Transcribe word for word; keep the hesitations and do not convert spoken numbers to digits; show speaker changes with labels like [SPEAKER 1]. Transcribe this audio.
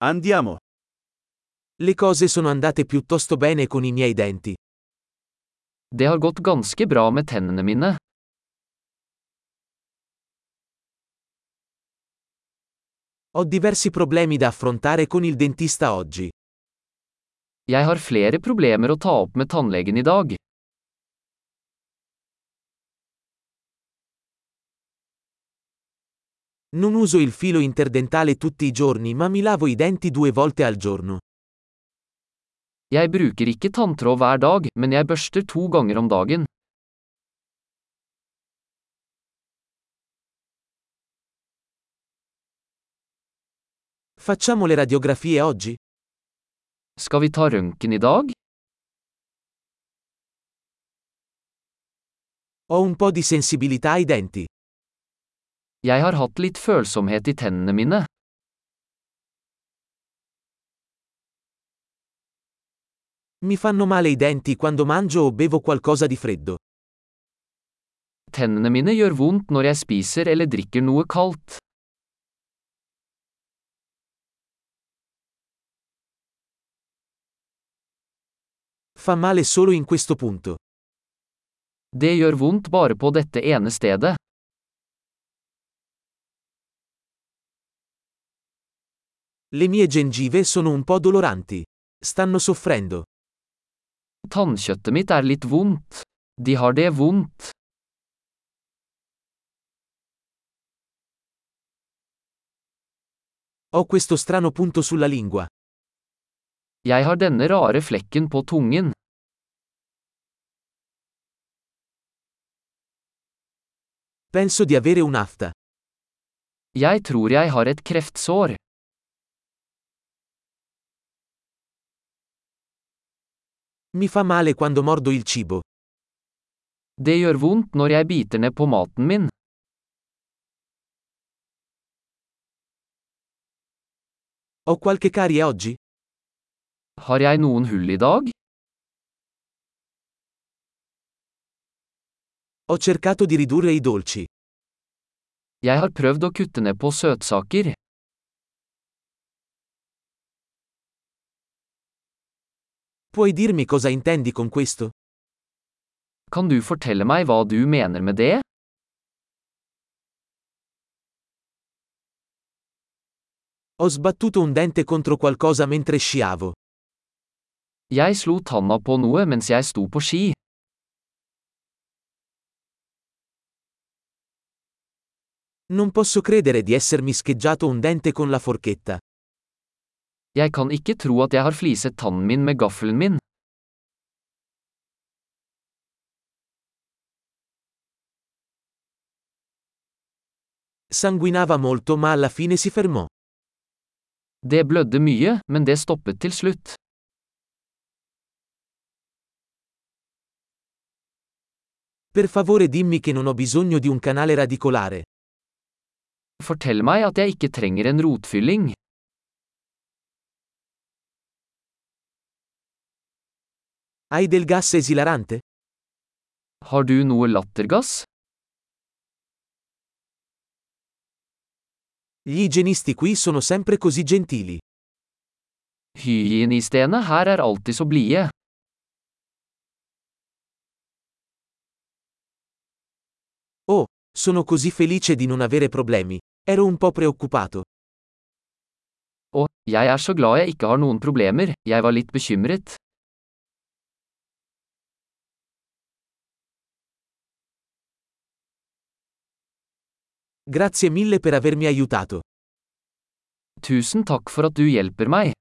[SPEAKER 1] Andiamo.
[SPEAKER 2] Le cose sono andate piuttosto bene con i miei denti.
[SPEAKER 3] Det har gått ganske bra med tennene mine.
[SPEAKER 2] Ho diversi problemi da affrontare con il dentista oggi.
[SPEAKER 3] Jeg har flere problemer å ta opp med tannlegen i dag.
[SPEAKER 2] Non uso il filo interdentale tutti i giorni, ma mi lavo i denti due volte al giorno.
[SPEAKER 3] Jeg bruker ikke tanntråd hver dag, men jeg børster to ganger om dagen.
[SPEAKER 2] Facciamo le radiografie oggi?
[SPEAKER 3] Skal vi ta røntgen i dag?
[SPEAKER 2] Ho un po' di sensibilità ai denti.
[SPEAKER 3] Jeg har hatt litt følsomhet i tennene mine.
[SPEAKER 2] Mi fanno male i denti quando mangio o bevo qualcosa di freddo.
[SPEAKER 3] Tennene mine gjør vondt når jeg spiser eller drikker noe kaldt.
[SPEAKER 2] Fa male solo in questo punto.
[SPEAKER 3] Det gjør vondt bare på dette ene stedet.
[SPEAKER 2] Le mie gengive sono un po' doloranti. Stanno soffrendo.
[SPEAKER 3] Tannkjøttet mitt er litt vondt. De har det vondt.
[SPEAKER 2] Ho questo strano punto sulla lingua.
[SPEAKER 3] Jeg har denne rare flekken på tungen.
[SPEAKER 2] Penso di avere un'afta.
[SPEAKER 3] Jeg tror jeg har et kreftsår.
[SPEAKER 2] Mi fa male quando mordo il cibo.
[SPEAKER 3] Det gjør vondt når jeg biter ned på maten min.
[SPEAKER 2] Ho qualche carie oggi?
[SPEAKER 3] Har jeg noen hull i dag?
[SPEAKER 2] Ho cercato di ridurre i dolci.
[SPEAKER 3] Jeg har prøvd å kutte ned på søtsaker.
[SPEAKER 2] Puoi dirmi cosa intendi con questo?
[SPEAKER 3] Kan du fortelle meg hva du mener med det?
[SPEAKER 2] Ho sbattuto un dente contro qualcosa mentre sciavo.
[SPEAKER 3] Jeg slo tanna på noe mens jeg sto på ski.
[SPEAKER 2] Non posso credere di essermi scheggiato un dente con la forchetta.
[SPEAKER 3] Jeg kan ikke tro at jeg har fliset tannen min med gaffelen min.
[SPEAKER 2] Sanguinava molto, ma alla fine si fermò.
[SPEAKER 3] Det blødde mye, men det stoppet til slutt.
[SPEAKER 2] Per favore dimmi che non ho bisogno di un canale radicolare.
[SPEAKER 3] Fortell meg at jeg ikke trenger en rotfylling.
[SPEAKER 2] Hai del gas esilarante?
[SPEAKER 3] Har du noe lattergass?
[SPEAKER 2] Gli igienisti qui sono sempre così gentili.
[SPEAKER 3] Hygienistene her er alltid så blide.
[SPEAKER 2] Oh, sono così felice di non avere problemi. Ero un po' preoccupato.
[SPEAKER 3] Og, jeg er så glad jeg ikke har noen problemer, jeg var litt bekymret.
[SPEAKER 2] Grazie mille per avermi aiutato.
[SPEAKER 3] Tusen takk for at du hjelper meg.